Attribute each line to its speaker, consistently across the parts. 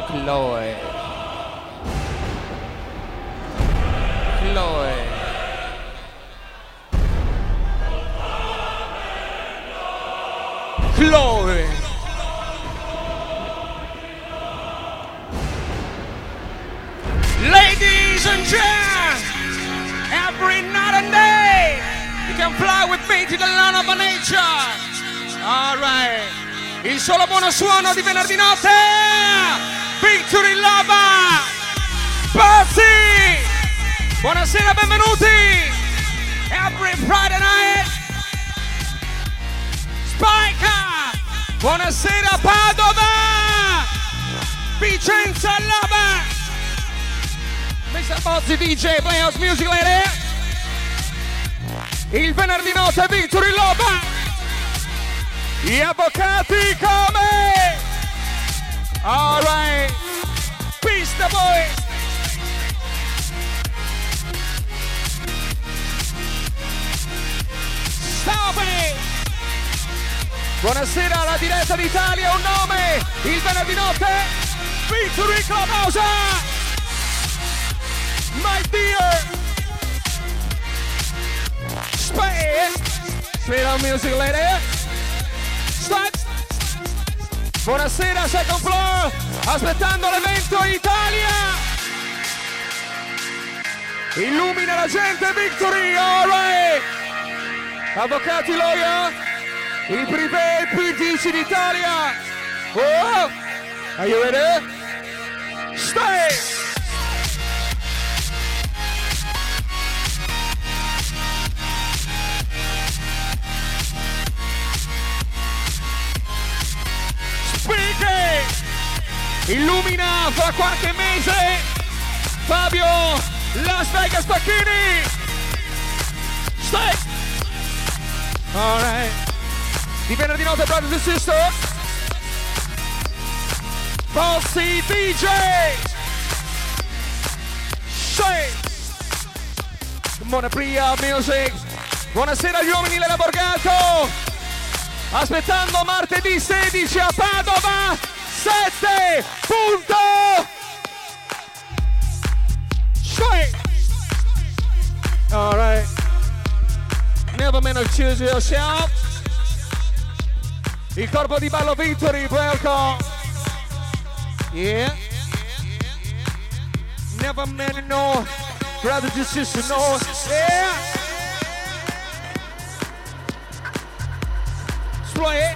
Speaker 1: Chloe. Chloe. Chloe. Ladies and gents, every night and day, you can fly with me to the land of nature. All right. Il solo buono suono di venerdì notte. Victory Lover. Pazzi. Buonasera, benvenuti. Every Friday night. Spike. Buonasera, Padova. Vicenza Lover. Mr. Bozzi DJ, play house music lady. Il venerdì notte Victory Lover. Gli avvocati come? All right. Peace the boys. Stop it. Buonasera, la diretta d'Italia, un nome. Il venerdì notte Victory Clubhouse. My dear. Spit on music lady. Buonasera, second floor, aspettando l'evento Italia. Illumina la gente, Victory, alright. Avvocati lawyer, il privé più dici d'Italia. Oh, are you ready? Stay. Illumina fra qualche mese Fabio Las Vegas Pacchini. Stay. Alright. Di venerdì notte, brothers and sisters. Bozzi DJ. Stay. Buona Pria Music. Buonasera agli uomini della Borgato. Aspettando martedì 16 a Padova. 7 punto. All right. Never man choose yourself. Il corpo di ballo Victory, welcome. Yeah. Never man no. Brother just sister no. Yeah. Spray.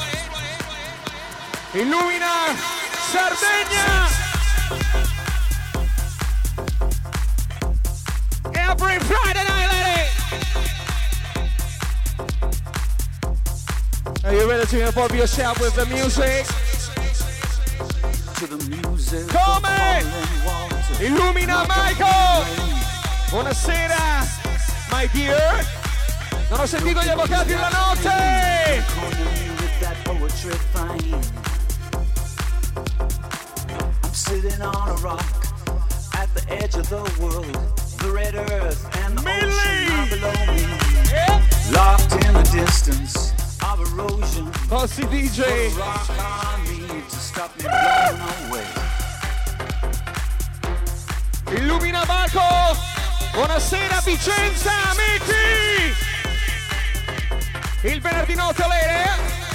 Speaker 1: Illumina Sardegna. Every Friday night, lady. Are you ready to involve yourself with the music?
Speaker 2: To the music.
Speaker 1: Come? Illumina Michael. Buonasera, my dear. Non ho sentito gli avvocati della notte.
Speaker 2: Sitting on a rock at the edge of the world, the red earth and the ocean are below me.
Speaker 1: Yeah.
Speaker 2: Locked in the distance of erosion.
Speaker 1: Bozzi DJ.
Speaker 2: Put a rock on me to stop me blowing away.
Speaker 1: Illumina Marco. Buonasera Vicenza, amici. Il venerdì notte lei.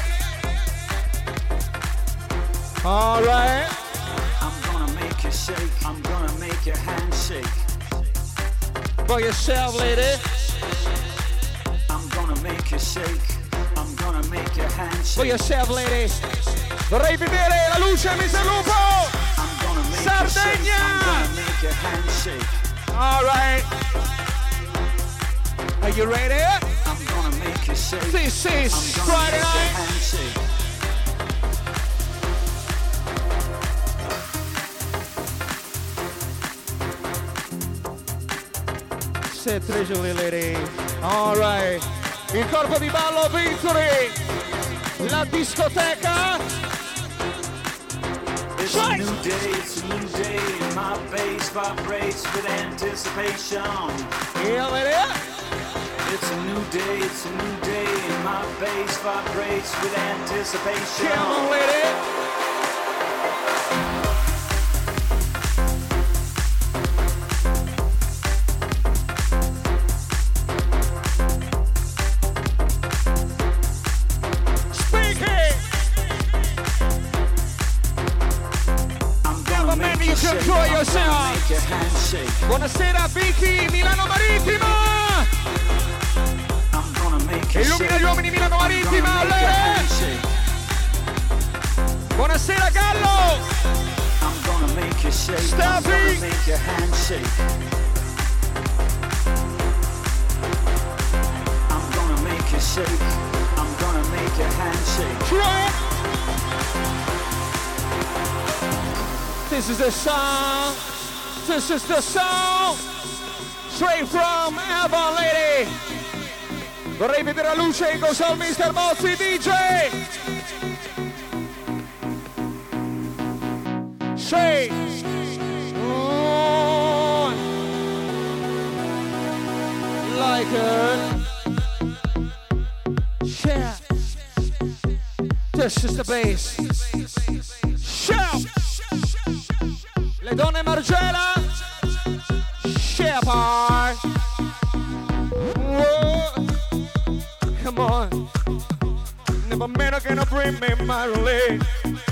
Speaker 1: All right.
Speaker 2: Shake. I'm gonna make your hand shake.
Speaker 1: For yourself, lady.
Speaker 2: I'm gonna make you shake. I'm gonna make your hand shake.
Speaker 1: For yourself, lady. Vorrei vedere la luce, Mr. Lupo.
Speaker 2: I'm gonna make
Speaker 1: Sardegna.
Speaker 2: you shake. I'm gonna make your hand shake.
Speaker 1: All right. Are you ready?
Speaker 2: I'm gonna make you shake.
Speaker 1: This is Friday night. Treasury lady. All right. Il corpo di ballo Victory. La discoteca.
Speaker 2: It's a new day, it's a new day. My bass vibrates with anticipation.
Speaker 1: Yeah, lady.
Speaker 2: It's a new day, it's a new day. My bass vibrates with anticipation.
Speaker 1: Come on, lady. time you can enjoy yourself. Buonasera Vicky, Milano Marittima. Illumina gli uomini Milano Marittima, buonasera Gallo. Steffi.
Speaker 2: I'm gonna make your handshake.
Speaker 1: This is the song. This is the song. Straight from Avon Lady. Vorrei vedere la luce con Sol Mr. Mozzi DJ. Say. Oh. Like it. Yeah. This is the bass. Shout. Le donne Margela. Shepard. Whoa. Come on. Never man gonna bring me my relief.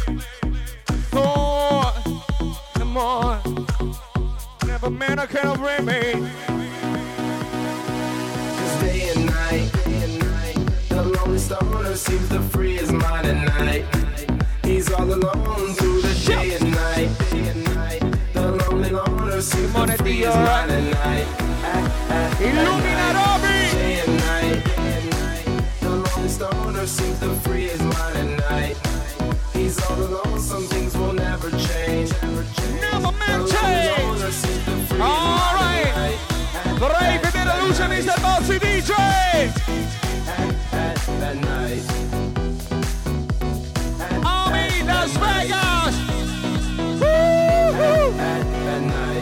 Speaker 1: Oh. Come on. Never man gonna bring me.
Speaker 3: Cause day and night. The lonely stoner seems to free his mind at night. He's all alone through the day and night. The lonely loner seems to free his mind at night.
Speaker 1: Illumina Roby.
Speaker 3: Day and night. The lonely stoner seems to free his mind at night. He's all alone, some things will never change.
Speaker 1: Never man change. All right. Vorrei vedere la luce Mr. Mozzi DJ.
Speaker 3: At night.
Speaker 1: Army Las Vegas.
Speaker 3: At night.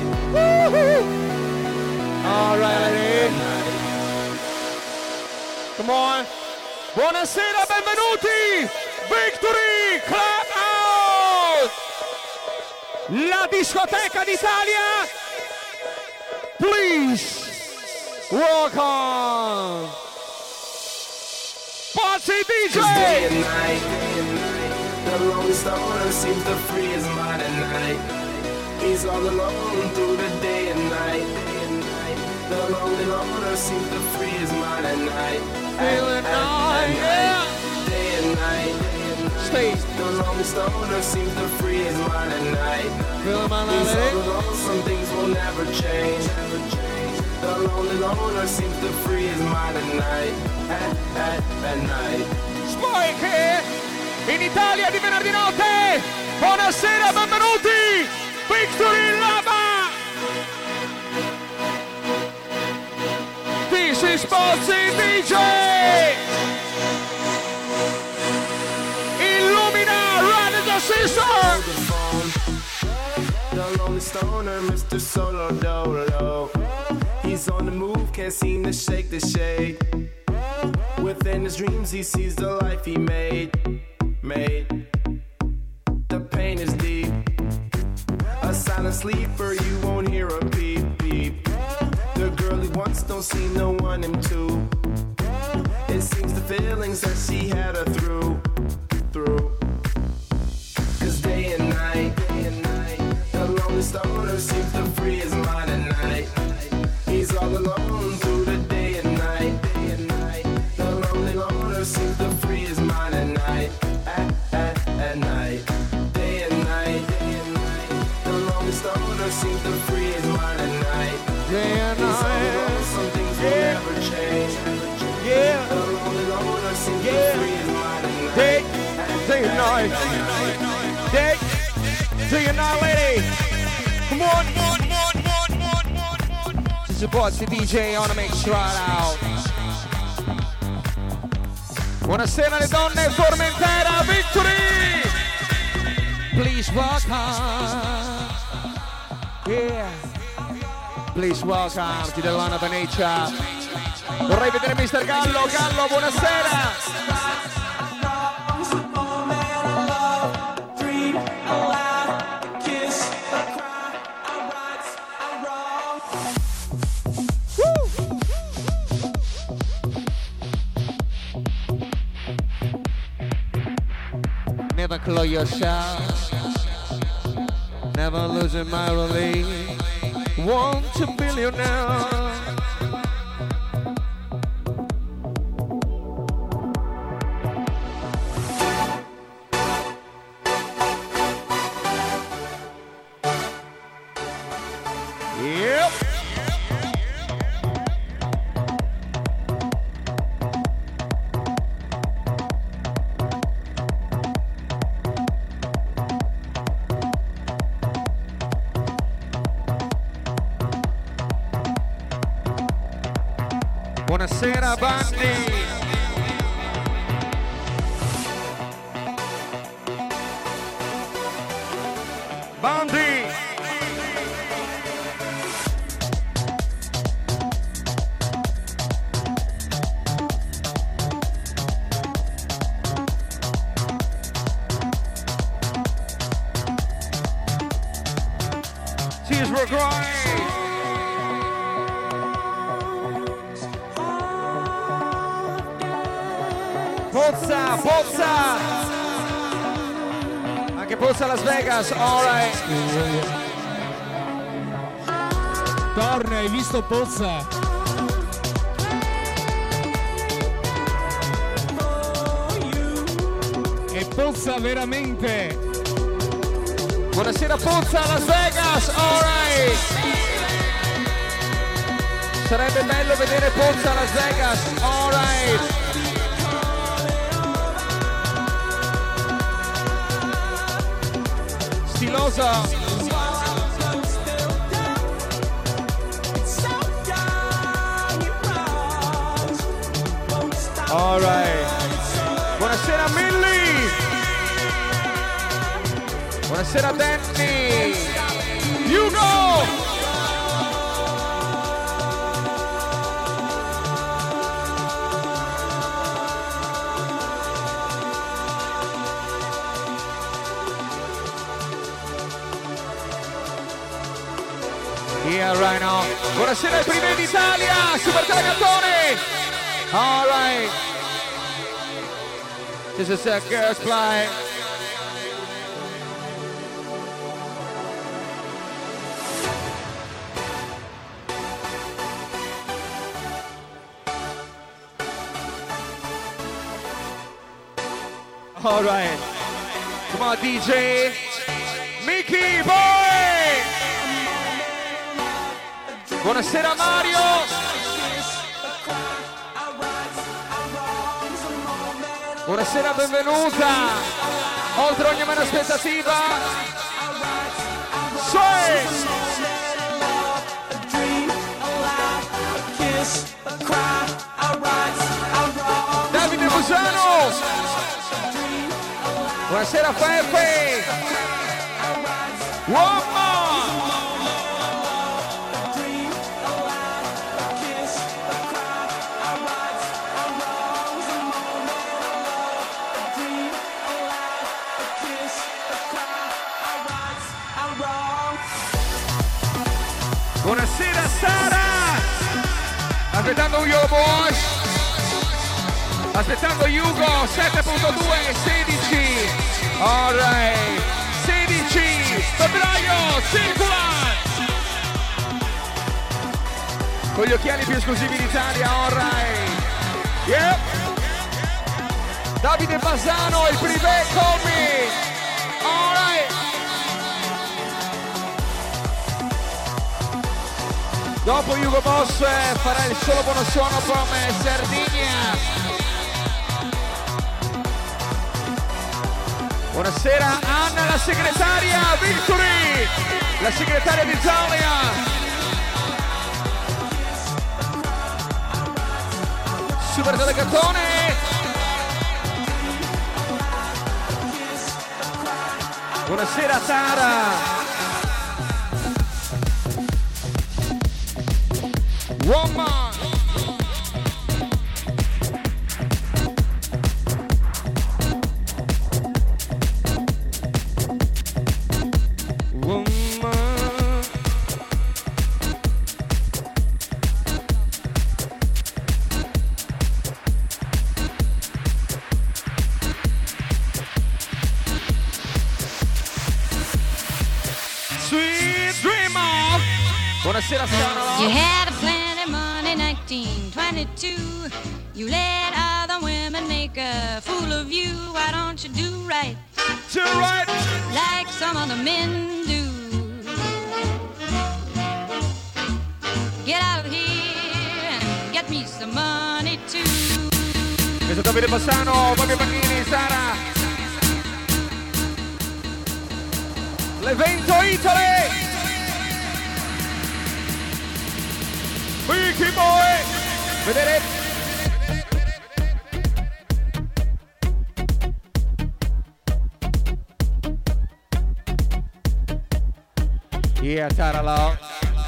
Speaker 1: All right. Come on. Buonasera, benvenuti. Victory Club Out. La discoteca d'Italia. Please. Welcome. Mozzi DJ!
Speaker 3: Day and night, the lonely stoner seems to free his mind at night. He's all alone through the day and night. The lonely loner seems to free his mind at night.
Speaker 1: Feeling night, yeah!
Speaker 3: Day and night.
Speaker 1: Stay.
Speaker 3: The lonely stoner seems to free his mind at night.
Speaker 1: Feeling my
Speaker 3: He's
Speaker 1: night,
Speaker 3: all alone, some things will never change. The lonely loner seems to free his mind at night. At night.
Speaker 1: Spike in Italia di venerdì notte. Buonasera, benvenuti. Victory Lava. This is Mozzi DJ. Illumina, run the sister.
Speaker 3: The lonely stoner, Mr. Solo Dolo. He's on the move, can't seem to shake the shade. Within his dreams, he sees the life he made. The pain is deep. A silent sleeper, you won't hear a beep, beep. The girl he wants don't seem to want him to. It seems the feelings that she had her through. Cause day and night, the lonely stoner seems to free his mind at night. He's all alone through the day and night. The lonely loner seems to free his mind at night. At night. Day and night. The lonely stoner seems to free his mind at night.
Speaker 1: Day and
Speaker 3: He's all
Speaker 1: night.
Speaker 3: alone, some things will never change.
Speaker 1: Yeah.
Speaker 3: The lonely loner seems to free his mind at night.
Speaker 1: Day and night. Day and night, lady. Come on. This is Mozzi DJ on a mix right out. Buonasera le donne, Formentera, Victory! Please welcome. Yeah. Please welcome to the land of nature. Vorrei vedere Mr. Gallo. Gallo, buonasera. Never close yourself. never losing my relief. 1 to billionaire. Yep. Buonasera Bandi. Bandi. Tears were crying. Pozza, Pozza! Anche Pozza Las Vegas, alright.
Speaker 4: Torna, hai visto Pozza? E Pozza veramente!
Speaker 1: Buonasera Pozza Las Vegas, alright. Sarebbe bello vedere Pozza Las Vegas, alright. Stilosa. Alright. Buonasera Millie. Buonasera Danny. Hugo. Yeah, right now. Buonasera ai primi d'Italia, Super Telegattone. All right. This is a girls' play. All right. Come on, DJ. Mickey Boy. Buonasera Mario. Buonasera, benvenuta. Oltre ogni mera aspettativa. Davide Busano. Buonasera Peppe. Uomo. Buonasera Sara. Aspettando Hugo Bosch. Aspettando Hugo 7.2 16. Alright. 16 febbraio circola. Con gli occhiali più esclusivi d'Italia, alright. Yep. Davide Bassano, il privé Colby. Alright. Dopo Hugo Boss farà il solo buono suono come Sardinia. Buonasera Anna, la segretaria Victory, la segretaria d'Italia. Super Delegatone. Buonasera Tara. Woman. Buonasera
Speaker 5: You
Speaker 1: Scanalo.
Speaker 5: had a plenty money 1922. You let other women make a fool of you. Why don't you do right
Speaker 1: To right.
Speaker 5: like some other men do? Get out of here and get me some money too.
Speaker 1: Questo Davide Bassano, Fabio Pannini, Sara. L'evento Italy. Vicky Boy. Vedere. Yeah, Taralo.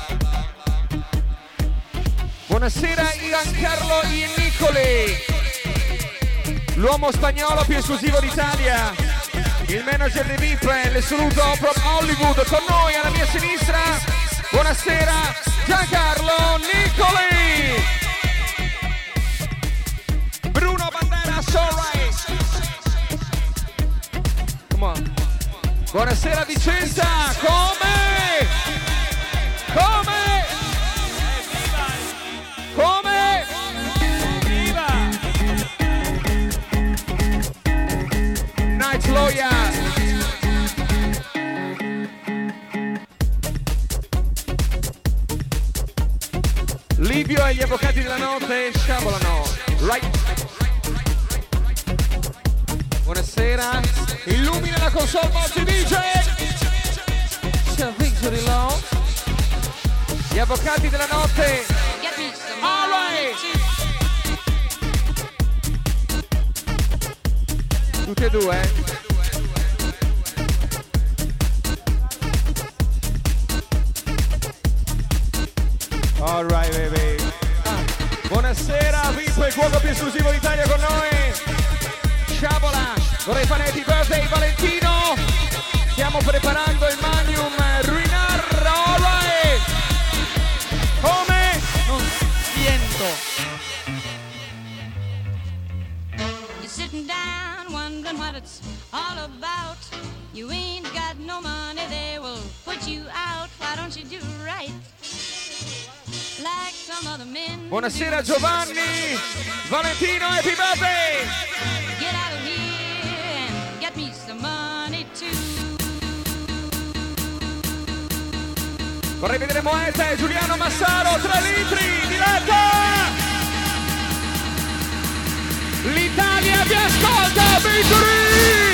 Speaker 1: Buonasera Giancarlo Nicoli, l'uomo spagnolo più esclusivo d'Italia, il manager di VIP, l'assoluto from Hollywood, con noi alla mia sinistra. Buonasera Giancarlo Nicoli. Bruno Banderas, alright. Come on. Buonasera Vicenza, come? Come? Come? Viva! Night Lawyer. Livio e gli avvocati della notte sciabolano. Right. Buonasera. Illumina la console Mozzi DJ. C'è Victory Law. Gli avvocati della notte.
Speaker 5: Get me some
Speaker 1: All
Speaker 5: money
Speaker 1: right.
Speaker 5: too.
Speaker 1: Tutti e due. All right, baby. Buonasera, VIP, il cuoco più esclusivo d'Italia con noi. Sciabola, vorrei fare happy birthday Valentino. Stiamo preparando il Magnum Ruinar. All right. Come?
Speaker 6: Non siento.
Speaker 5: You're sitting down wondering what it's all about. You ain't got no money, they will put you out. Why don't you do right like some other men?
Speaker 1: Buonasera Giovanni. Valentino, happy birthday.
Speaker 5: Get out of here and get me some money too.
Speaker 1: Vorrei vedere Moeta e Giuliano Massaro, 3 litri, diretta! L'Italia vi ascolta, Victory!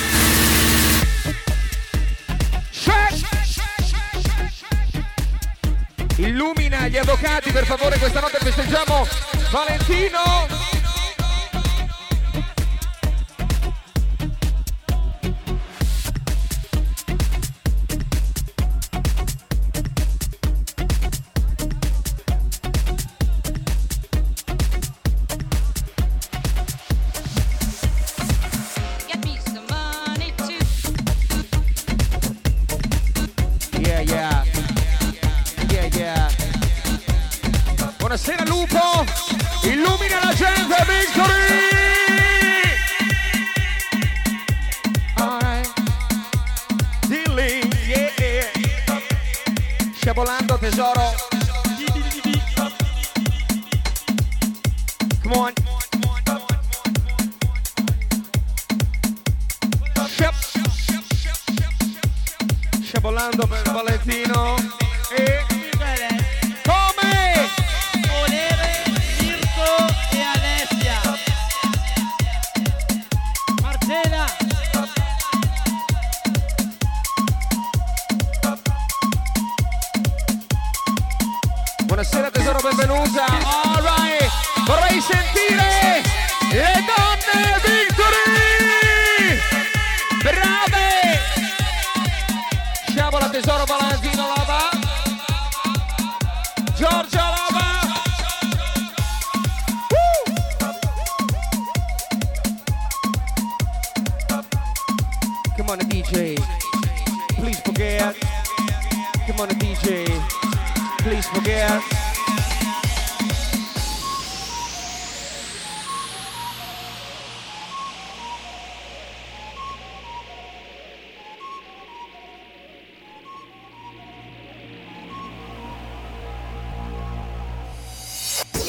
Speaker 1: Illumina gli avvocati, per favore, questa notte festeggiamo Valentino!
Speaker 5: Get me some money too.
Speaker 1: Yeah, yeah. Yeah, yeah. Buonasera Lupo, illumina la gente, Victory! Alright. Dilly, yeah. Sciabolando tesoro. Come on. Sciabolando per Valentino. E come?
Speaker 6: Volere, Mirko e Alessia. Marcela.
Speaker 1: Buonasera tesoro, benvenuta. All right. Vorrei sentire le donne Victory. Brave. Sciabola tesoro, Valentino Lava. Giorgia Lava. Come on DJ. Please forget. Come on DJ. Please forget.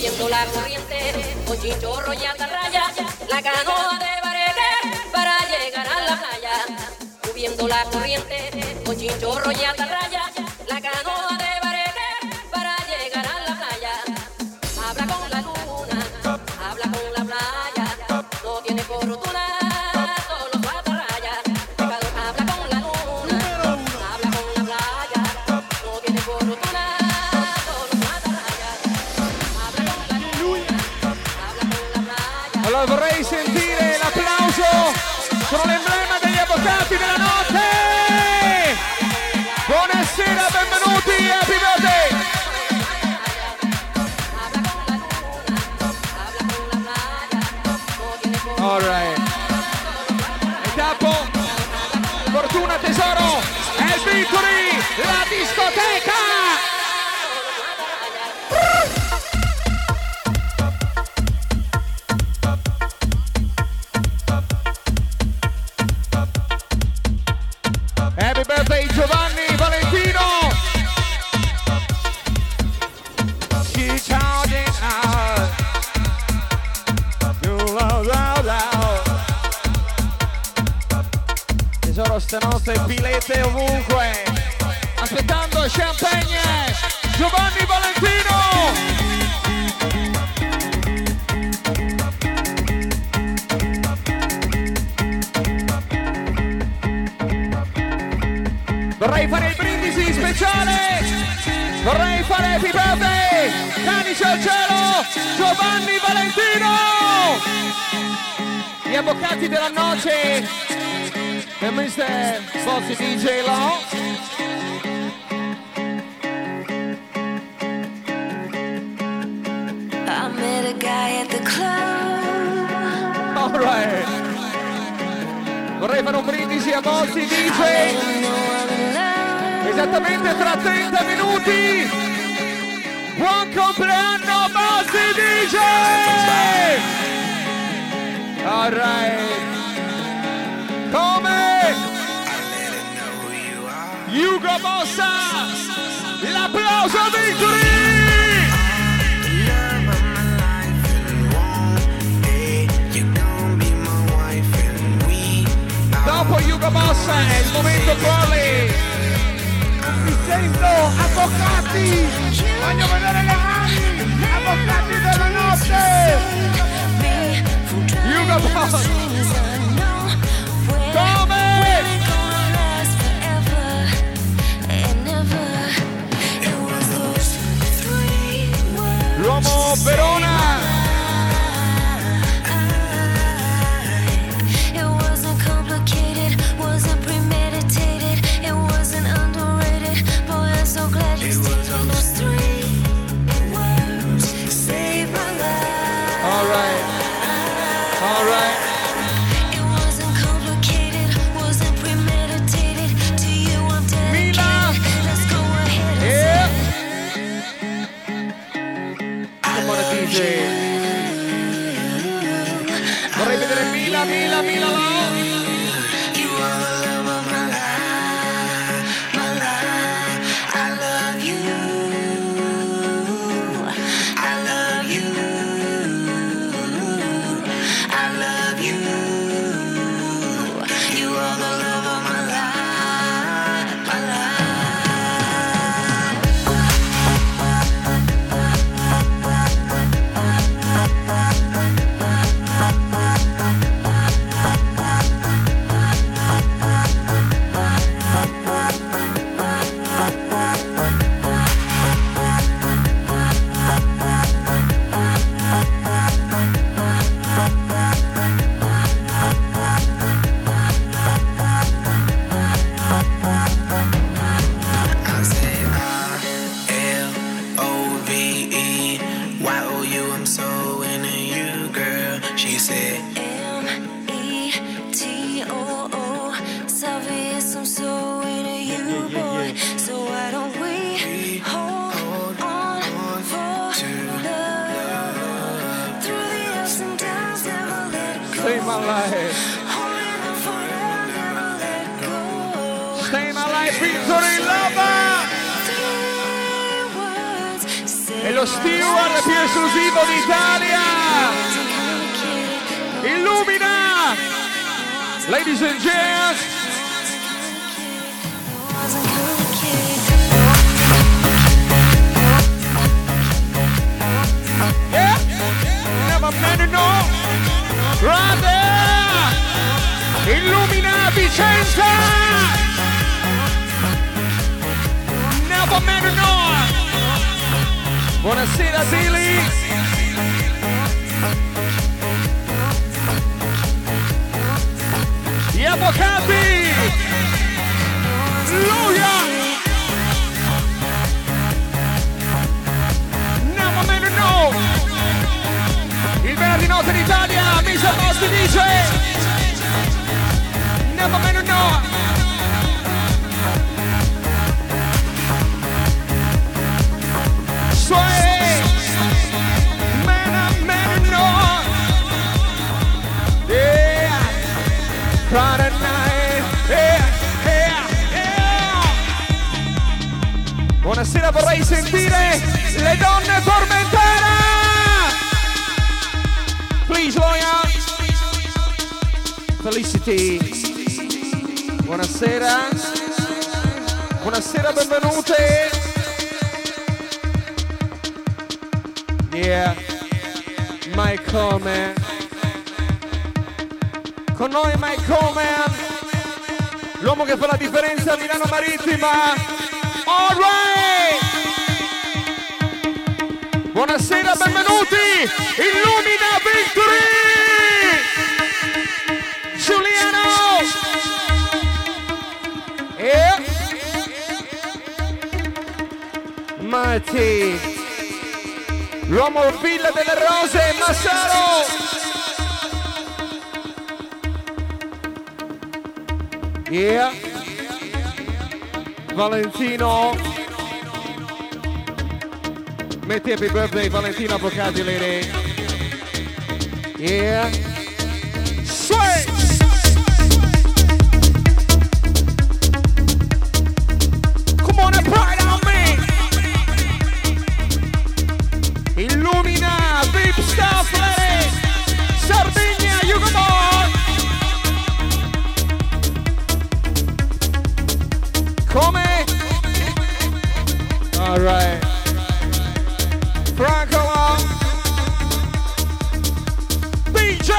Speaker 7: Subiendo la corriente, con chinchorro y atarraya, la canoa de Bareque para llegar a la playa. Subiendo la corriente, con chinchorro y atarraya, la canoa de Bareque para llegar a la playa. Habla con la luna, habla con la playa, no tiene fortuna, solo su atarraya. Habla con la luna, habla con la playa, no tiene fortuna, solo su atarraya. Habla con la luna, habla con la playa.
Speaker 1: Allora vorrei sentire l'applauso, sono l'emblema degli avvocati della notte. Buonasera, benvenuti, happy birthday. All right. E capo, fortuna tesoro, è il Victory, la discoteca. Happy birthday Giovanni Valentino. She charging out. Tesoro, stanotte pilete ovunque. Aspettando champagne. Giovanni Valentino. Vorrei fare il brindisi speciale, vorrei fare happy birthday, canice al cielo, Giovanni Valentino! Gli avvocati della noce, e Mr. Bossy DJ Law.
Speaker 8: I met a guy at the club.
Speaker 1: All right. Vorrei fare un brindisi a Bossy DJ. Esattamente tra 30 minuti. Buon compleanno Bossy DJ! All right. Come? Hugo Bossa! L'applauso a Victory! Dopo Hugo Bossa è il momento Corley.
Speaker 9: Mi sento avvocati, voglio vedere le mani, avvocati della notte.
Speaker 1: Hugo Bossa. Come? L'uomo Verona. Vorrei vedere Mila Stay my life. Stay my life, Victory Lover. E lo steward più esclusivo d'Italia. Illumina, ladies and gents. Yeah, never met it, no. Right there. Illumina Vicenza. Never met it, no. Buonasera Billy. Gli avvocati. Alleluia. Never met it, no. Il venerdì notte d'Italia, Misa Posti dice never met it, no. Sway, man, no. Yeah, Friday night, yeah. Buonasera, vorrei sentire le donne Formentera. Please, lawyer. Felicity. Buonasera. Buonasera, benvenute. Yeah, Mike Coleman. Con noi Mike Coleman, l'uomo che fa la differenza a Milano Marittima. All right. Buonasera, benvenuti. Illumina Victory. Giuliano. Yeah. Marty. L'uomo Villa delle Rose, Massaro! Yeah! Valentino! Metti happy birthday Valentino Avvocati, lady! Yeah! Sway! Come on and pride on me! Illumina, Vip Stuff, lady! Sardegna, you come on! Come? Alright. Franco, DJ!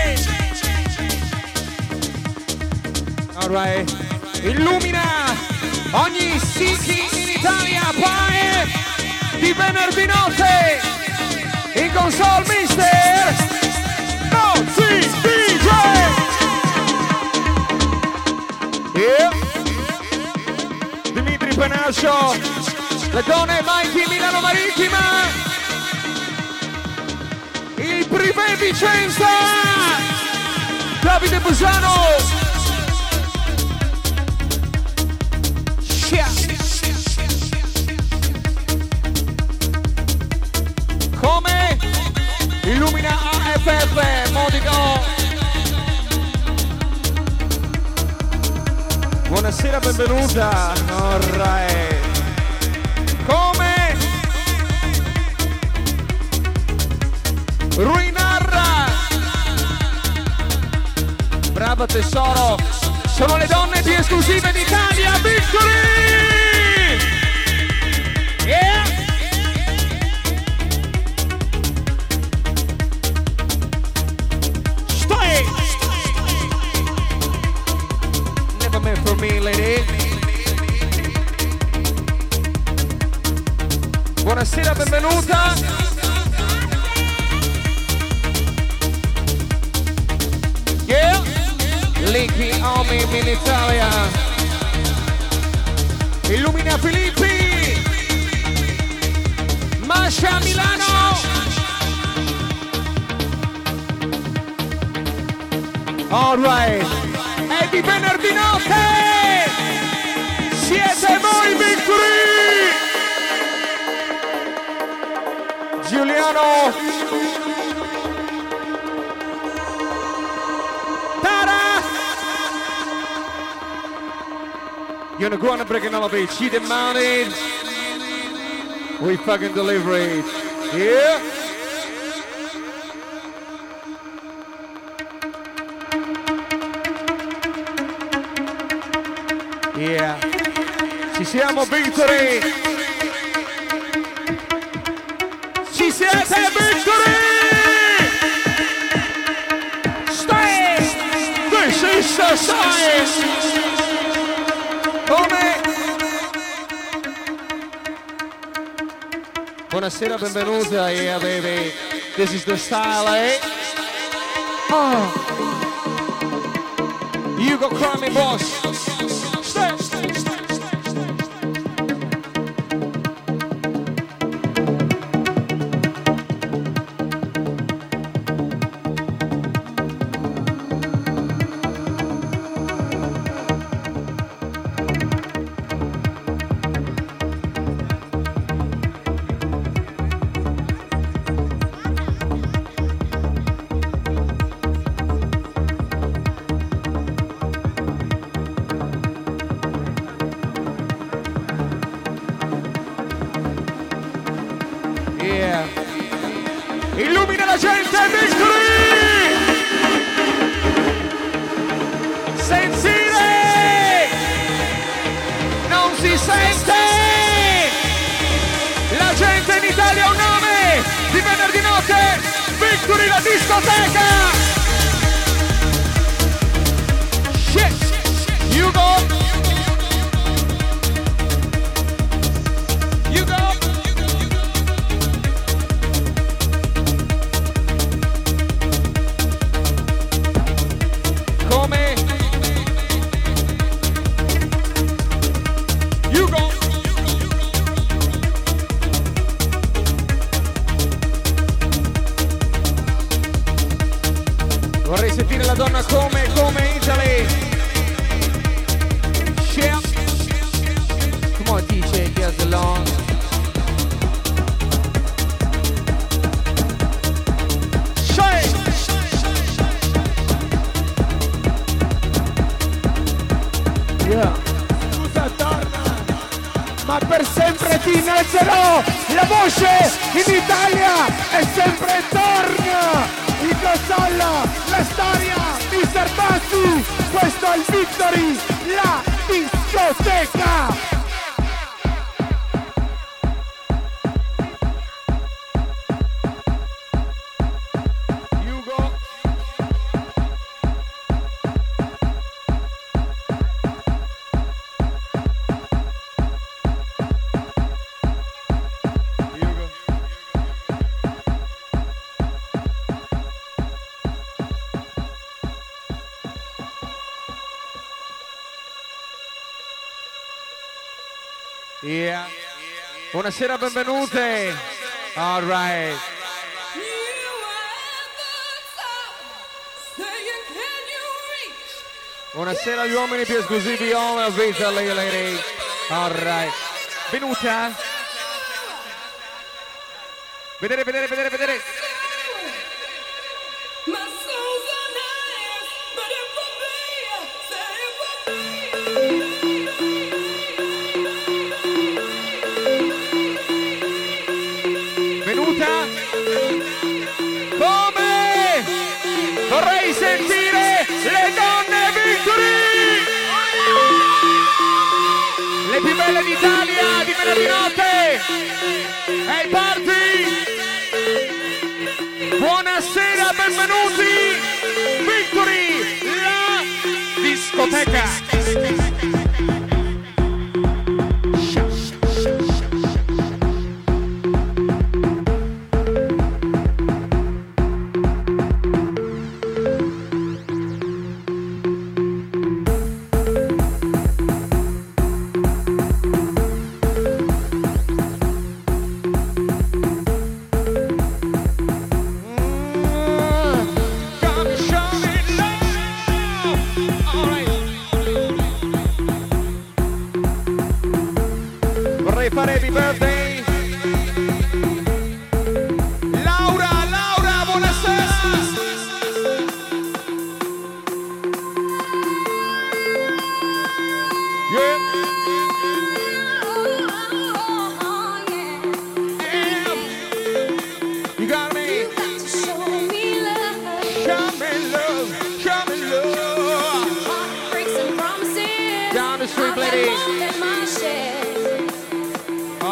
Speaker 1: Alright. Illumina ogni city in Italia, pare di venerdì notte! In console mister Nozzi DJ. Yeah. Dimitri Penascio, le donne Mikey Milano Marittima, il Privé Vicenza, Davide Busano. Come? Illumina AFF, Modico. Buonasera, benvenuta. Alright. Come? Ruinarra. Brava tesoro. Sono le donne più esclusive d'Italia. Victory! Yeah! Never meant for me, lady. Buonasera, benvenuta. Yeah. Linky Army in Italia. Illumina Filippi. Masha Milano. All right. È di venerdì notte! Siete voi, Victory! Giuliano! Tara! You're gonna go on and break another beat. She demanded. We fucking deliver it. Yeah. Yeah. Ci siamo, Victory. Ci siete, Victory. Stay. This is the science. Come? Buonasera, benvenuta, yeah baby. This is the style, eh? Oh. You go cry me, boss. Stay. Illumina la gente, Victory! Sentire! Non si sente! La gente in Italia ha un nome! Di venerdì notte! Victory, la discoteca! Shit! You go! You go! Vorrei sentire la donna come Italy. Yeah. Come on DJ, get along.
Speaker 9: Yeah. Scusa, torna. Ma per sempre ti innalzerò. La voce in Italia è sempre torna. Il Cossalla, la storia, Mr. Bassi, questo è il Victory, la discoteca!
Speaker 1: Yeah. Buonasera, benvenute. All right. Buonasera agli uomini più esclusivi, all vita lady. All right. Venuta. Vedere. Come? Vorrei sentire le donne Victory! Le più belle d'Italia di venerdì notte! Hey party! Buonasera, benvenuti! Victory, la discoteca! Fare happy birthday Laura, buonasera. Yeah.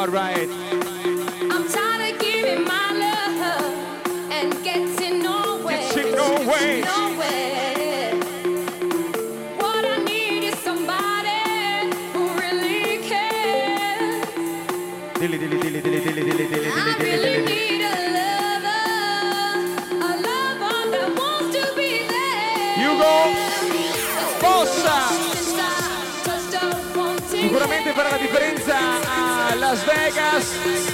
Speaker 1: All right.
Speaker 5: I'm tired of giving my love and getting nowhere.
Speaker 1: Getting nowhere.
Speaker 5: Nowhere. What I need is somebody who really cares.
Speaker 1: Dilli.
Speaker 5: I really need a lover that wants to be there.
Speaker 1: You go. Possa. Sicuramente farà la differenza a Las Vegas.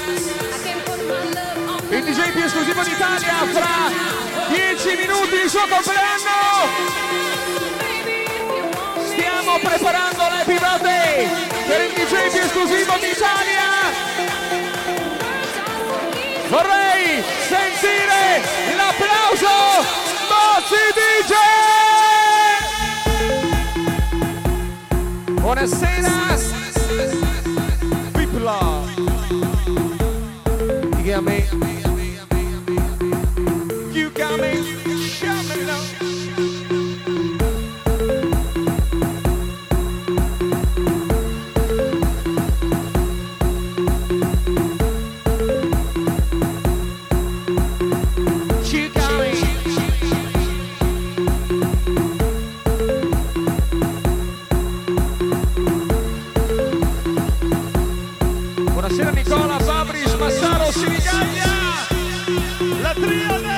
Speaker 1: Il DJ più esclusivo d'Italia fra 10 minuti, il suo compleanno. Stiamo preparando l'Happy Birthday per il DJ più esclusivo d'Italia. Vorrei sentire l'applauso Bozzi DJ. Buonasera. Pipla. You got me. You got me. Shout me now. You got me. Buonasera Nicola, Fabris, Massaro, Sinigaglia, la triade!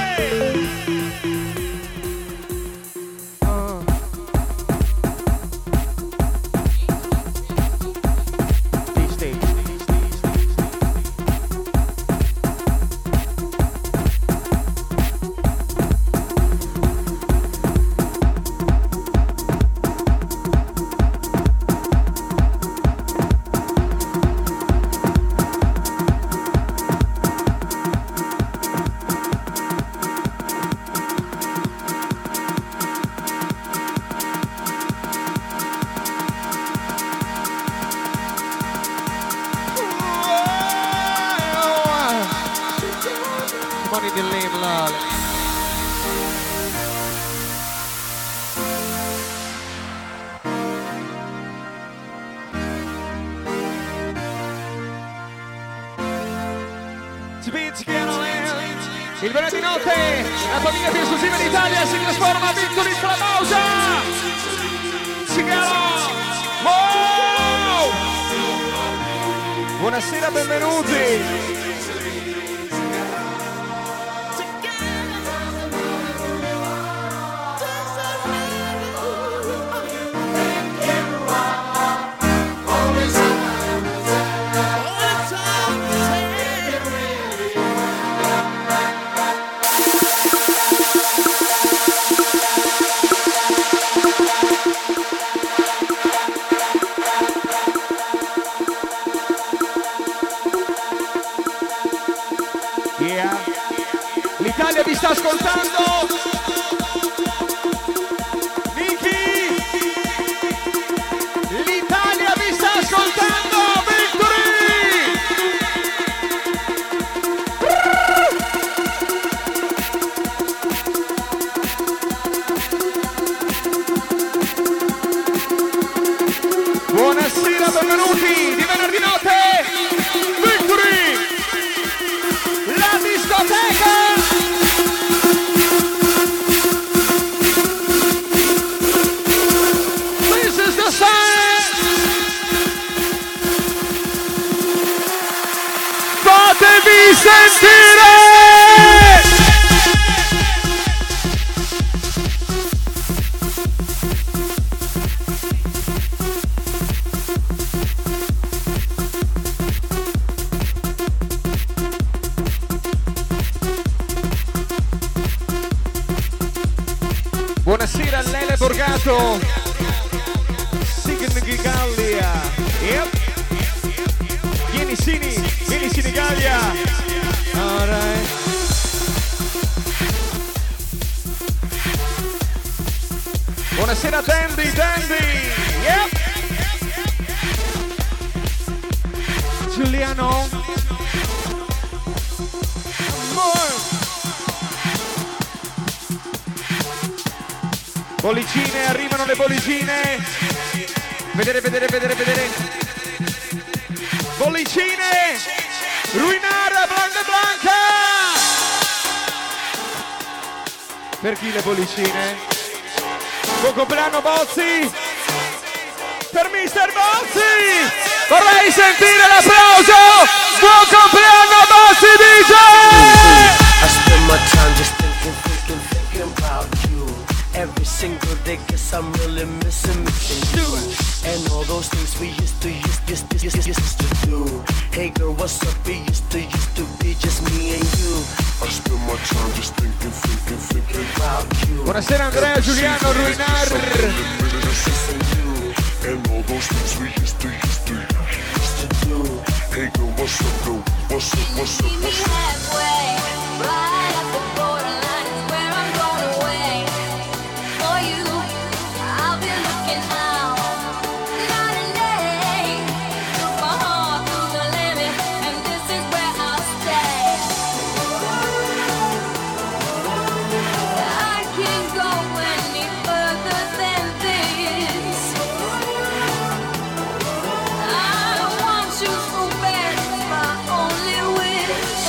Speaker 1: Money the lame lol. Il venerdì notte la famiglia più esclusiva d'Italia si trasforma a Victory Clamausa. Cigaro. Oh! Buonasera, benvenuti. L'Italia vi sta ascoltando. Niki, l'Italia vi sta ascoltando. Victory! Buonasera, benvenuti di venerdì notte. Victory! La discoteca! This is the sign! Fatevi sentire! Buonasera Lele Borgato, Sinigallia, yep. Vieni Sinigallia, alright. Buonasera Dandy, yep. Giuliano, bollicine, arrivano le bollicine. Vedere. Bollicine. Pollicine, Ruinare, Blanca Blanca. Per chi le pollicine? Buon compleanno Bozzi. Per Mister Bozzi. Vorrei sentire l'applauso. Buon compleanno Bozzi DJ.
Speaker 10: I spend my time just thinking about you. Every single day, guess I'm really missing you. And all those things we used to do. Hey girl, what's up? We used to be just me and you. I spend my time just thinking about you.
Speaker 1: Buonasera Andrea Giuliano Ruinar.
Speaker 10: And all those things we used to do. Hey girl, what's up, girl? What's up?
Speaker 5: Meet me halfway, right at the borderline is where I'm going away. For you, I'll be looking out night and day. Took my heart to the limit, and this is where I'll stay. I can't go any further than this. I want you so bad, it's my only wish.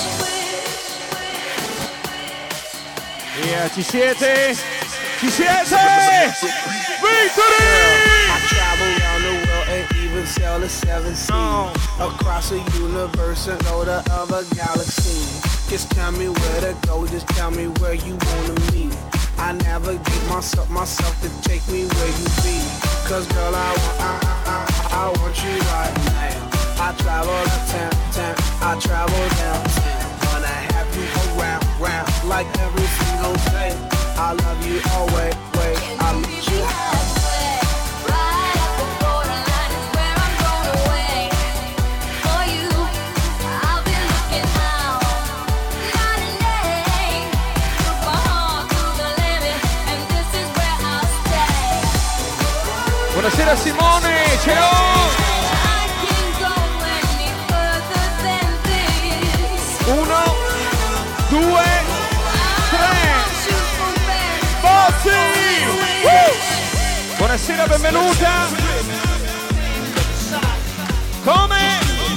Speaker 1: Yeah, ci siete? Ci siete? Victory!
Speaker 3: I travel around the world and even sail the seven seas. Across the universe and go to other galaxies. Just tell me where to go, just tell me where you wanna meet. I navigate myself to take me where you be. Cause girl, I want you right now. I travel uptown, I travel downtown. Wanna have you around, like every single day. I love you always, I need you.
Speaker 5: Right at the borderline is where I'm going away. For you, I'll be looking out night and day. Took my heart to the limit, and this is where I'll stay.
Speaker 1: Buonasera Simone, ciao!
Speaker 5: I can't go any further than this.
Speaker 1: 1, 2, 3. Bozzi! Buonasera, benvenuta! Come?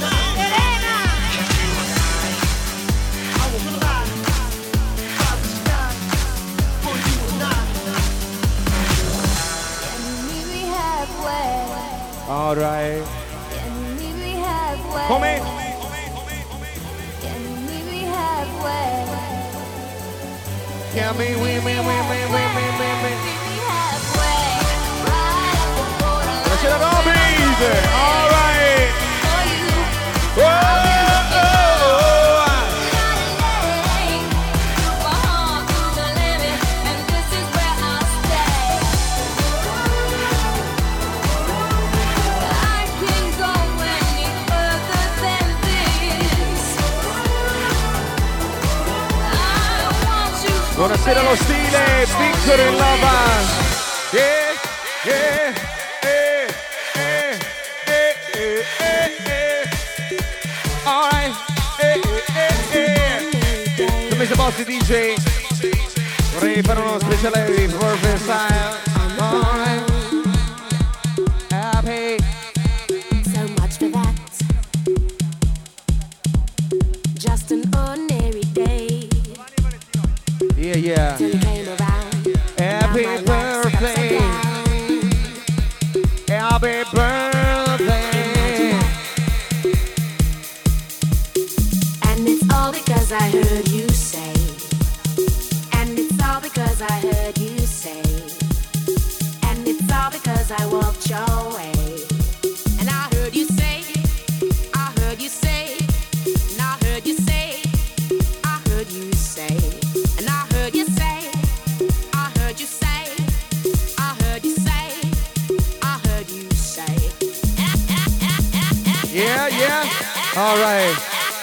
Speaker 5: Meet me halfway.
Speaker 1: All right.
Speaker 5: Meet me halfway.
Speaker 1: Come?
Speaker 5: Meet me halfway.
Speaker 1: Chiami,
Speaker 5: Meet me halfway. Right at the borderline.
Speaker 1: Buonasera Robin! All right!
Speaker 5: For you,
Speaker 1: Whoa!
Speaker 5: took my heart to the limit, and this is where I'll stay. I can't go any further than this. I want you so
Speaker 1: Buonasera lo stile, Victor in Lava! Yeah, yeah, all right, to Mr. Bozzi DJ, vorrei fare uno speciale for freestyle. All right, happy.
Speaker 8: So much for that. Just an ordinary day.
Speaker 1: Yeah, yeah.
Speaker 8: Till you came around.
Speaker 1: Happy
Speaker 8: Now my life's
Speaker 1: birthday.
Speaker 8: upside down.
Speaker 1: Happy birthday.
Speaker 8: And it's all because I heard you say. And it's all because I heard you say. And it's all because I walked your way. And I heard you say, I heard you say, and I heard you say, I heard you say, and I heard you say, I heard you say, I heard you say, I heard you say.
Speaker 1: Yeah, yeah. All right.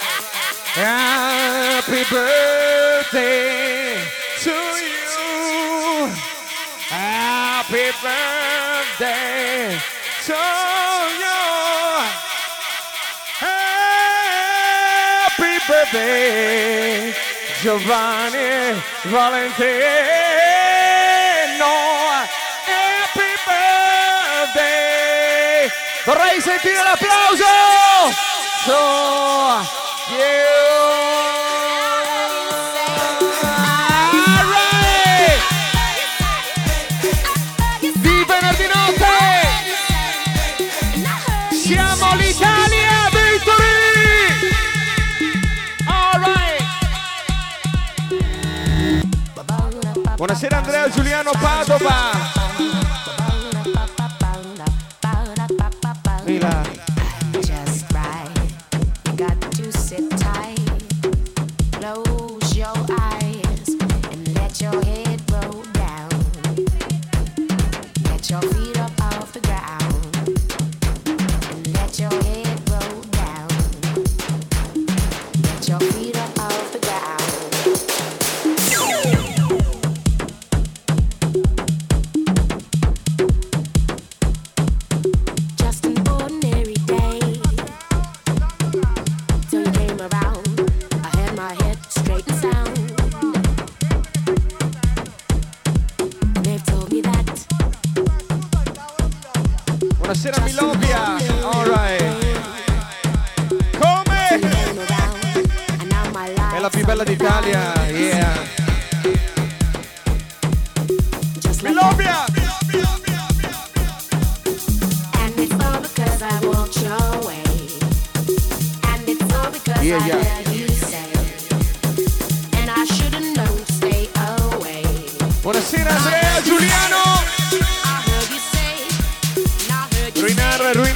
Speaker 1: Happy birthday to you. Happy birthday to you. Happy birthday, Giovanni Valentino. Happy birthday. Vorrei sentire l'applauso. To Buonasera Andrea Giuliano Padova. Mila.
Speaker 8: Just right. You got to sit tight. Close your eyes and let your head roll down. Get your feet up off the ground and let your head roll down. Get your feet up off the ground. Just an ordinary day till you came around. I had my head straight and sound. They've told me that.
Speaker 1: Buonasera Milovia. All right. Come? È la più bella d'Italia. Yeah. Milovia.
Speaker 8: And it's all because I walked your way. And it's all because
Speaker 1: Yeah,
Speaker 8: I
Speaker 1: yeah.
Speaker 8: heard you say. And I should've known to stay away.
Speaker 1: Buonasera Andrea Giuliano.
Speaker 8: I heard you say. And I heard you
Speaker 1: Ruinar.
Speaker 8: I heard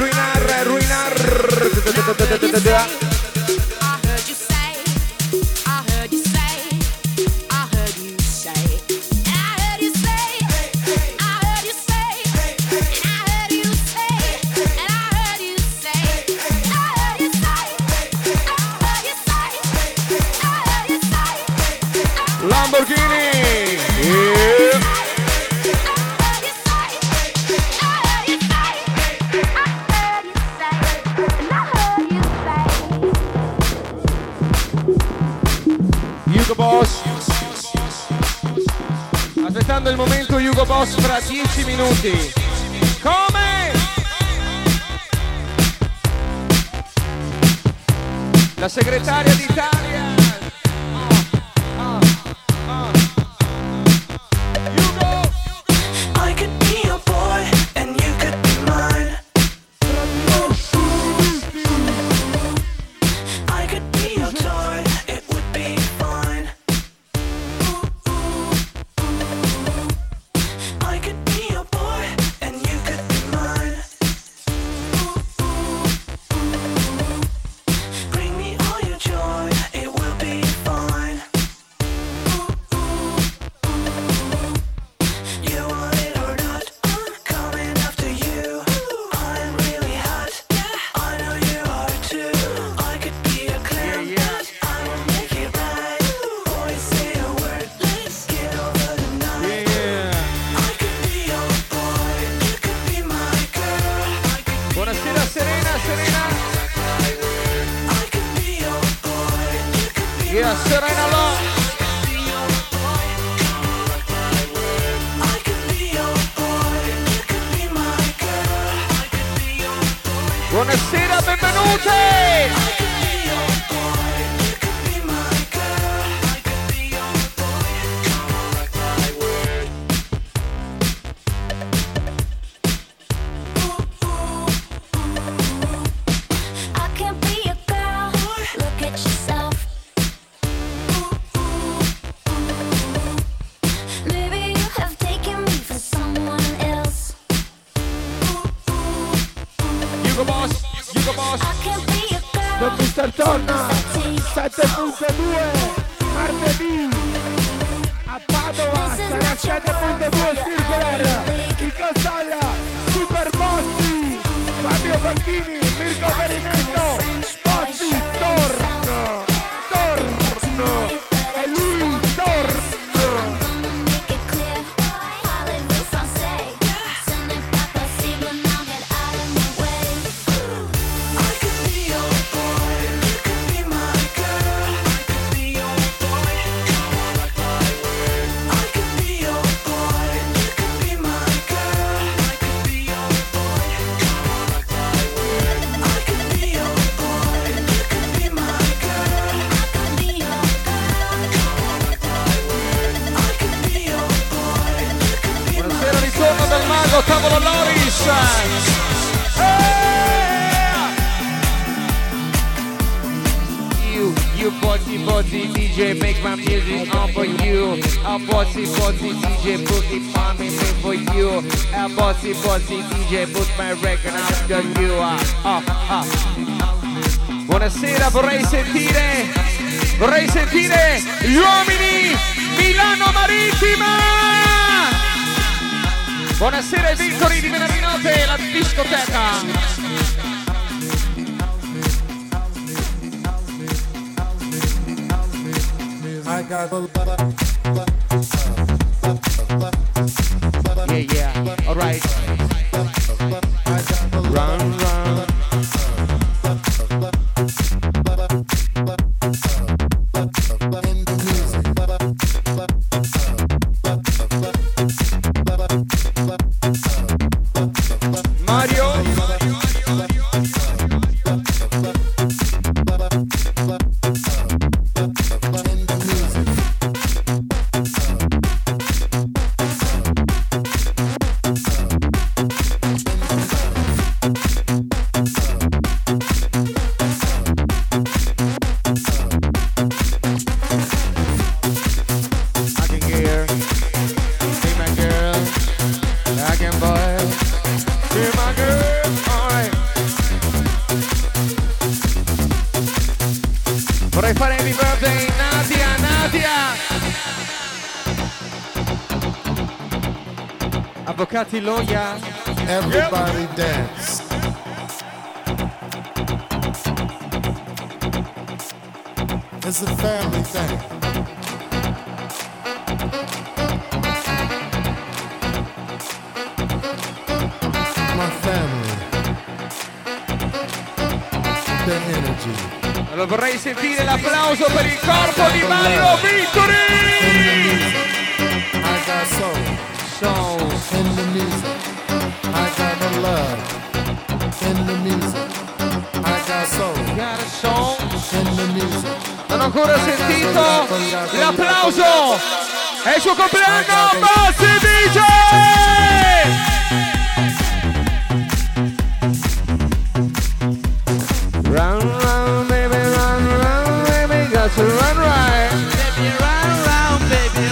Speaker 8: you say. I heard you say. I heard you say. And I heard you say. I heard you say. And I heard you say. And I heard you say. I heard you say. I heard you say. I heard you say.
Speaker 1: Lamborghini. Yeah. Hugo Boss. Aspettando il momento Hugo Boss fra 10 minuti. Come? La segretaria d'Italia.
Speaker 3: I could be your boy and you could be mine. I could be your toy, it would be fine. I could be your boy and you could be mine. Bring me all your joy, it will be fine. You want it or not, I'm coming after you. I'm really hot, I know you are too. I could be a clown, I will make it right. Boys say a word, let's get over the night. I could be your boy, you could be my girl.
Speaker 1: Buonasera Serena.
Speaker 3: I could be your boy, you could be
Speaker 1: Yeah, Serena Law.
Speaker 3: I could be your boy, you could be my girl.
Speaker 1: Buonasera, benvenuti.
Speaker 8: I can't be a girl. Look at yourself. Maybe you have taken me for someone else.
Speaker 1: Hugo Boss.
Speaker 8: I can't be a girl.
Speaker 9: Don Mister torna 7.2 martedì a Padova, sarà 7.2 Circular, il Casalla, Super Bossi, Fabio Facchini, Mirko Perichino, Bossi, torno, e lui torno.
Speaker 1: You bossy DJ, make my music on for you. A bossy DJ, put it on me for you. A bossy DJ, put my record after you. Buonasera, vorrei sentire gli uomini Milano Marittima. Buonasera Victory di venerdì notte, la discoteca.
Speaker 3: I got
Speaker 1: Yeah, alright. Run. Mario. Vorrei fare happy birthday Nadia. Avvocati Loya.
Speaker 3: everybody dance. It's a family thing. My family. The energy.
Speaker 1: Allora vorrei sentire l'applauso per il corpo di Mario Victory!
Speaker 3: I got soul. In the music. I got the love. In the music. I got soul. In the music.
Speaker 1: Non ho ancora sentito l'applauso! È il suo compleanno, Bossy DJ! Run, baby, run, baby, got to run right.
Speaker 6: Baby, run, baby,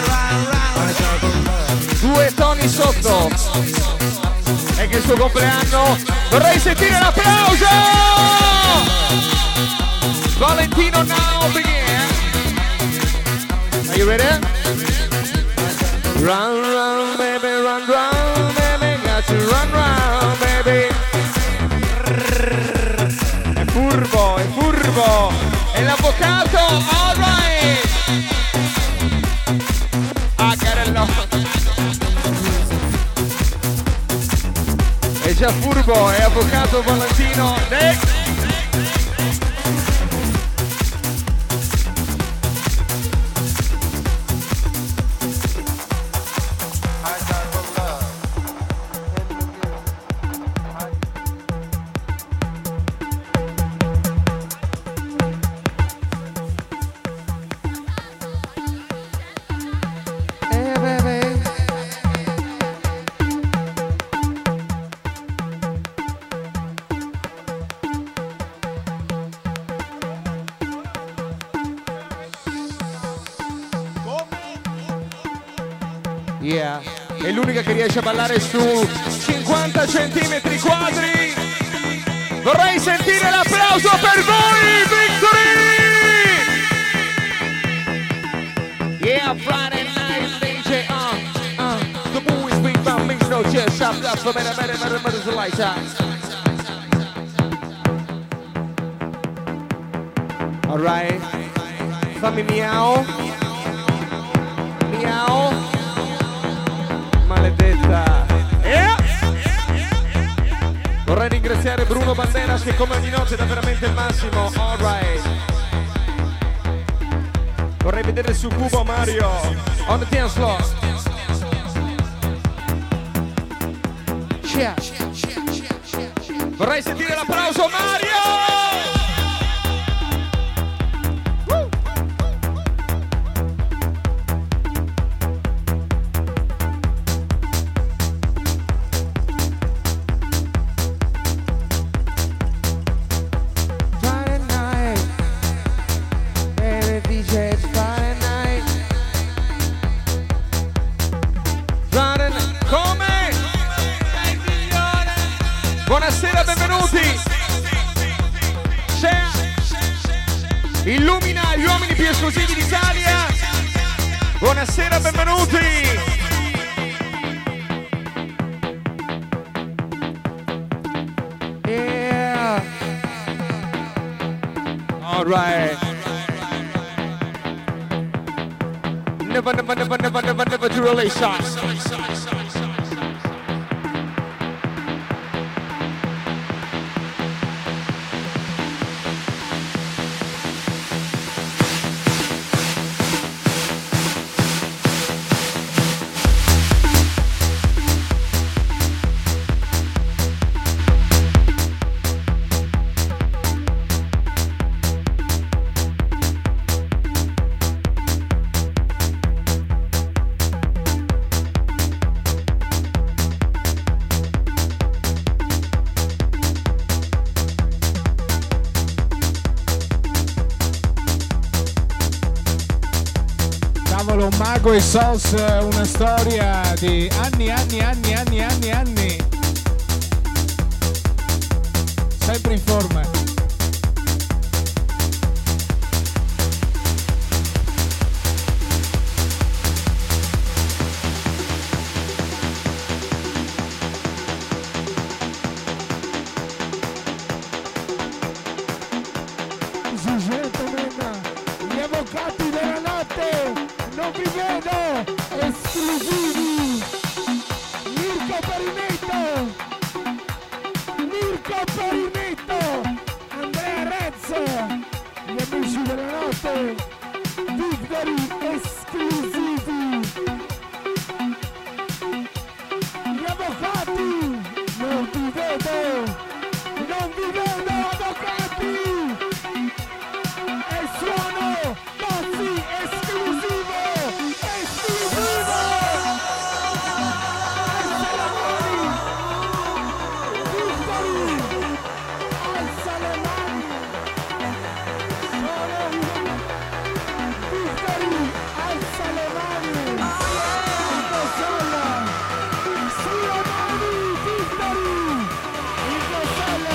Speaker 6: run.
Speaker 1: Due toni sotto. È che il suo compleanno. Vorrei sentire l'applauso! Valentino now begin. Are you ready? Run, baby, run, baby, got to run, baby. È furbo, è l'avvocato, all right. I got it love. È già furbo, è avvocato Valentino. Next. Yeah, è l'unica che riesce a ballare su 50 centimetri quadri. Vorrei sentire l'applauso per voi, Victory! Yeah, Friday night DJ, the boys beat my mix, no chest, shop, for better, lights out. All right, fammi miau. Maledetta. Vorrei ringraziare Bruno Banderas che come ogni notte dà veramente il massimo. All right. Vorrei vedere su Cubo Mario on the dance floor. Vorrei sentire l'applauso Mario. illumina gli uomini più esclusivi d'Italia. Buonasera, benvenuti.
Speaker 9: Yeah.
Speaker 1: All right. Never to relation.
Speaker 4: Mago e Sos, una storia di anni. Sempre in forma.
Speaker 9: Gli avvocati della notte, non vi vedo, esclusivi. Mirko Perinetto, Andrea Rezzo, gli amici della notte, Victory esclusivi. Gli avvocati, non vi vedo avvocati. E suono Bozzi esclusivo. Alza le mani. Victory, alza le mani. Sulle mani, Victory. Il Costello.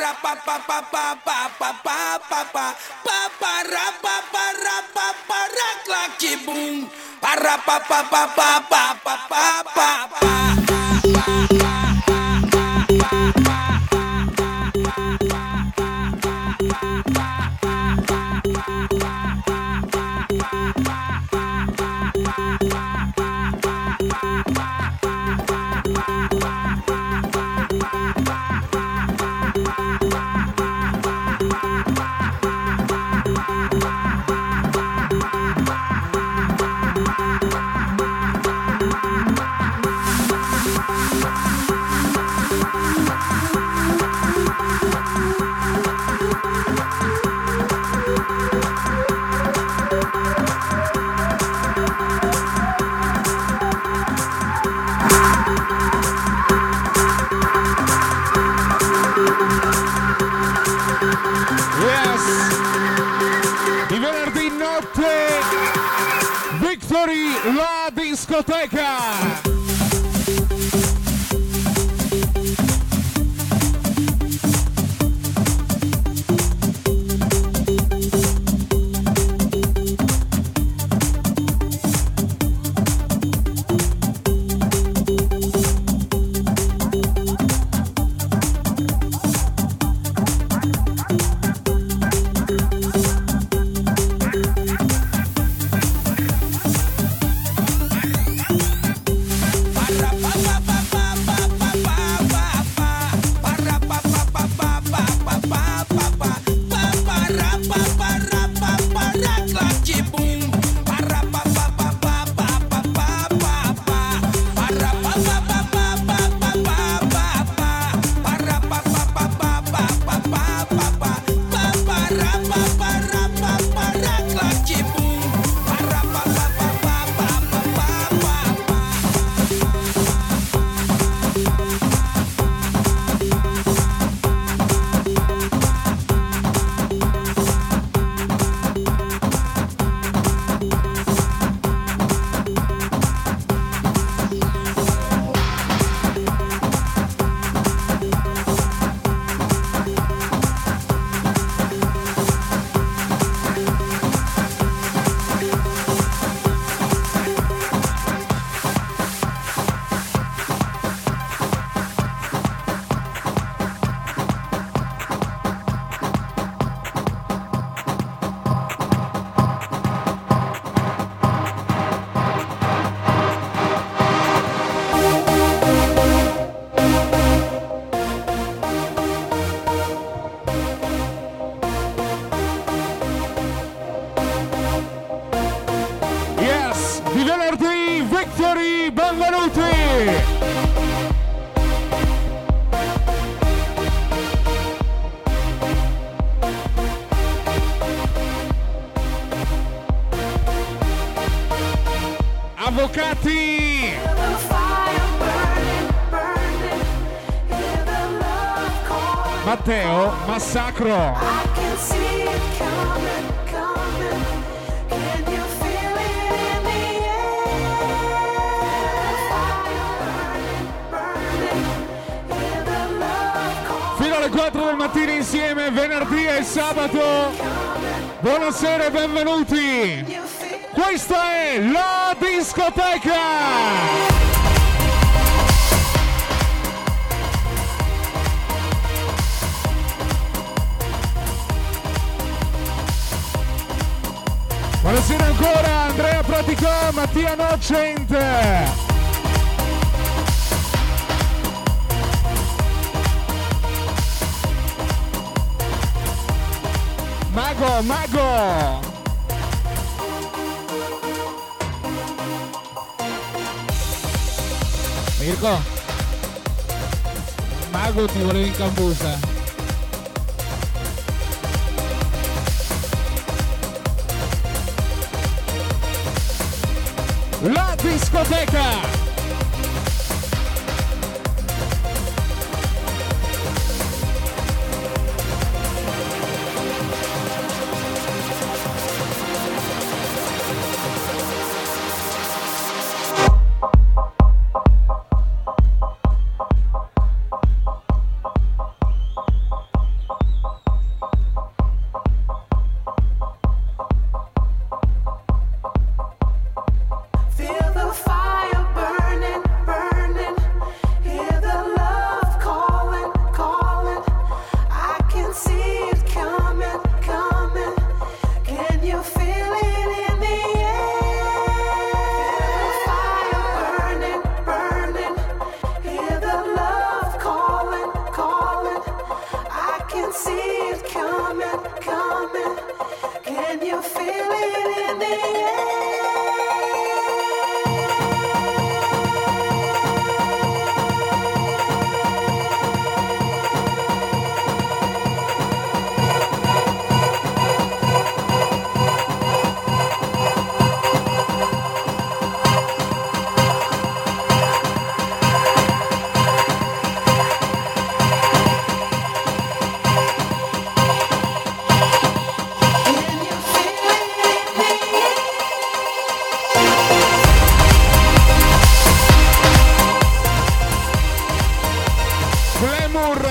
Speaker 4: La discoteca. Avvocati! Matteo, massacro! Fino alle 4 del mattino insieme, venerdì e sabato. Buonasera e benvenuti! Questa è la discoteca! Buonasera ancora Andrea Praticò, Mattia Nocent. Mago! Mirko, Mago ti volevo in cambusa. La discoteca!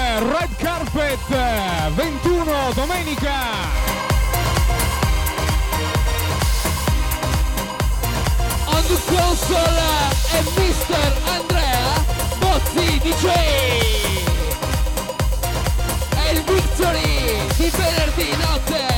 Speaker 4: Red Carpet 21 domenica.
Speaker 6: On the console è Mr. Andrea Bozzi DJ. È il Victory di venerdì notte.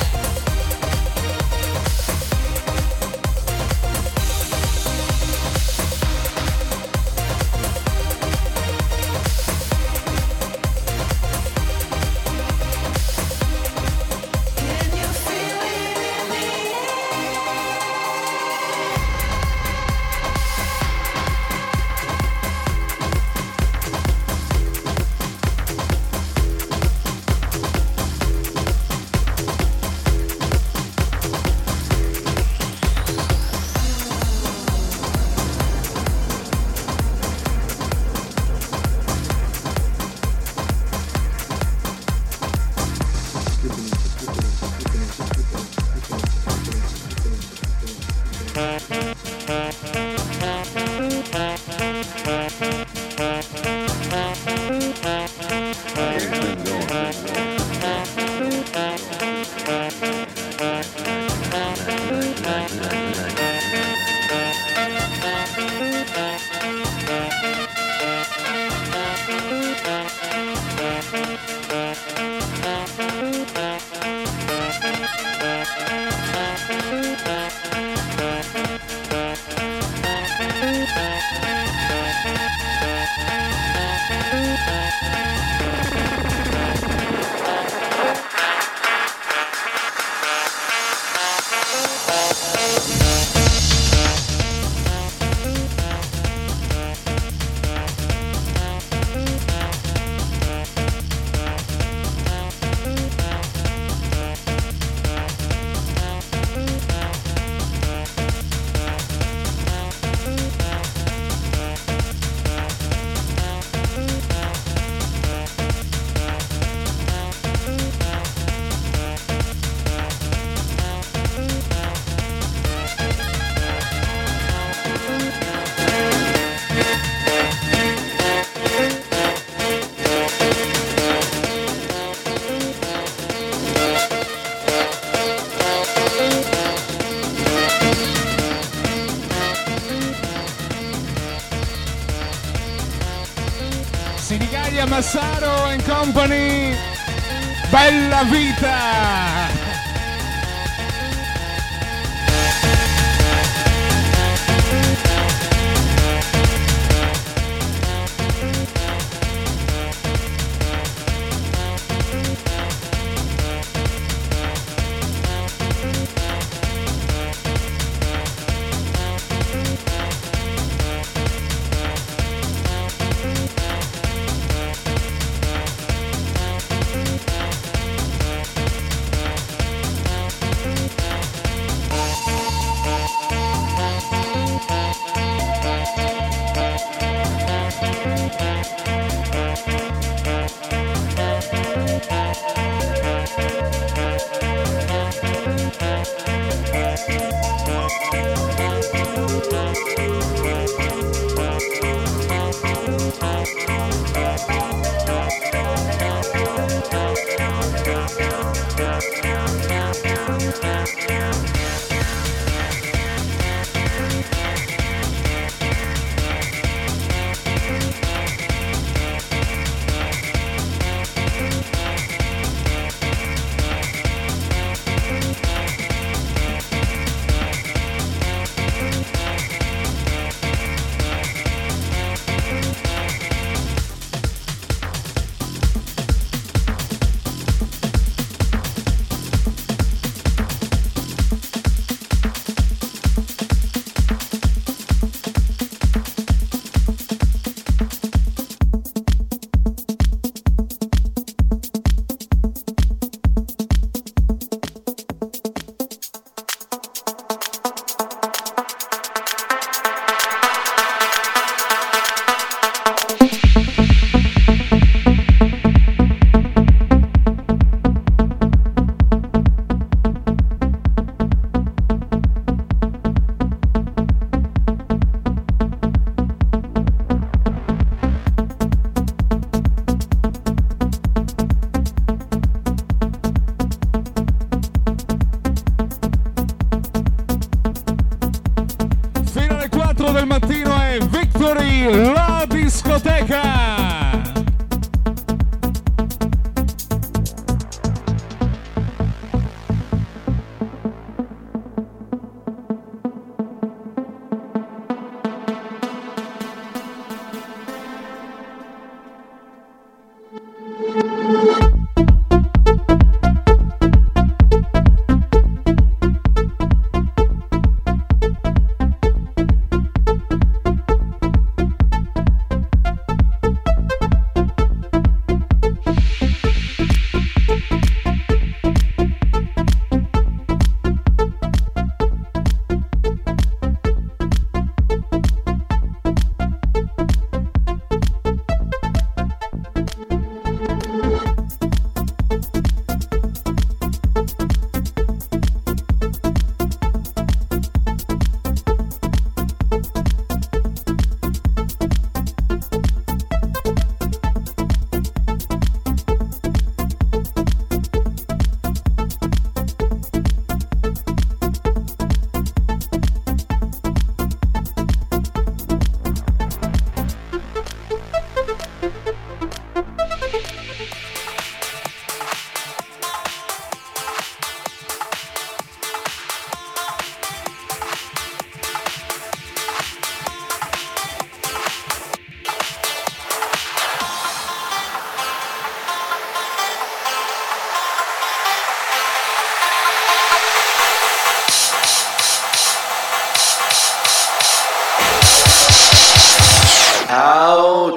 Speaker 4: Sinigalia Massaro and Company, bella vita!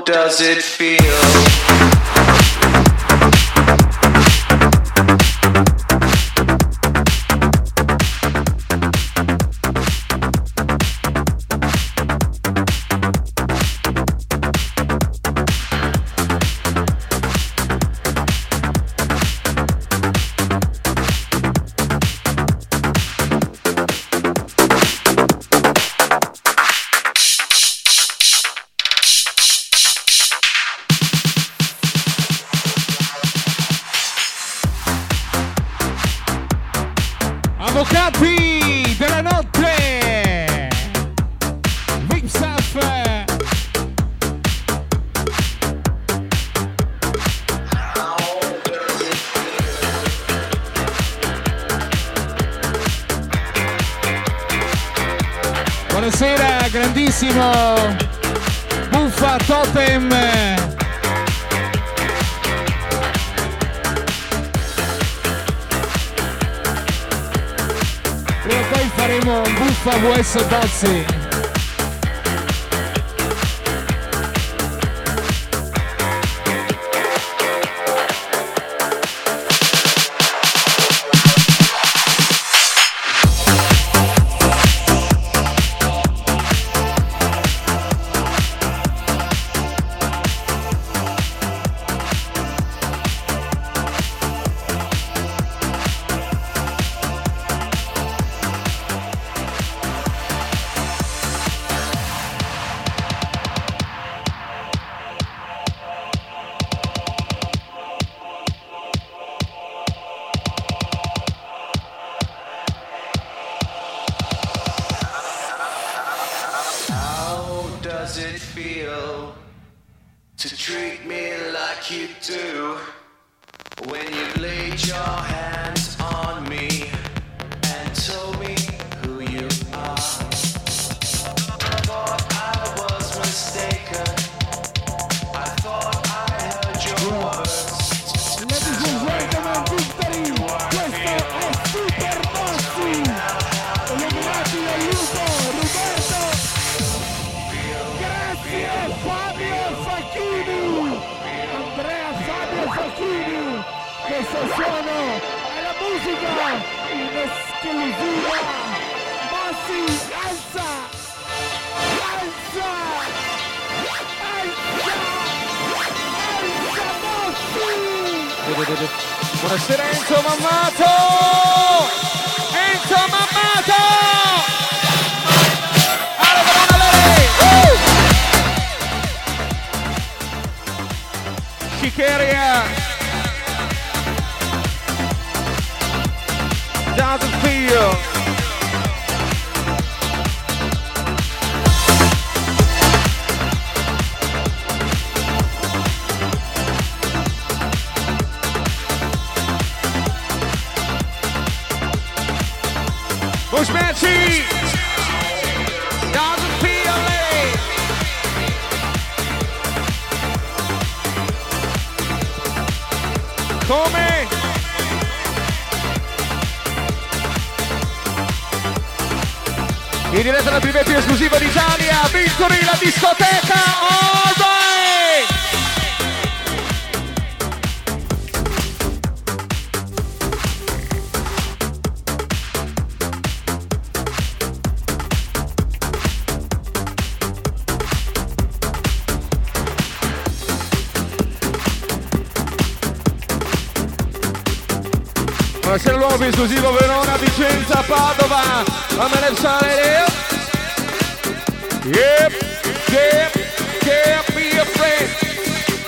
Speaker 2: does it feel?
Speaker 4: Avvocati della notte, Vipsaf. Buonasera, grandissimo Buffa Totem. Prima o poi faremo un Buffa VS Bozzi.
Speaker 2: Does it feel to treat me like you do when you laid your hands on me and told me who you are? I thought I was mistaken. I thought I heard your words.
Speaker 9: Ladies and gentlemen, Victory, questo è Super Bossi, illuminati dal lupo, Roberto. Grazie Fabio Facchini, Andrea Fabio Facchini, questo suono è la musica in esclusiva. Bossi, alza, alza, alza, alza Bossi.
Speaker 1: Buonasera Enzo Mammato! Enzo Mammato! Chicheria! Doesn't feel! Bushmanchi! Doesn't feel it! Come? In diretta la prima più esclusiva d'Italia, Victory, la discoteca, all right! Buonasera l'uomo più esclusivo Verona, Vicenza, Padova, I'm an excited. Yep, can't be afraid.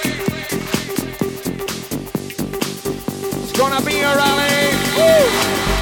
Speaker 1: It's gonna be a rally. Woo!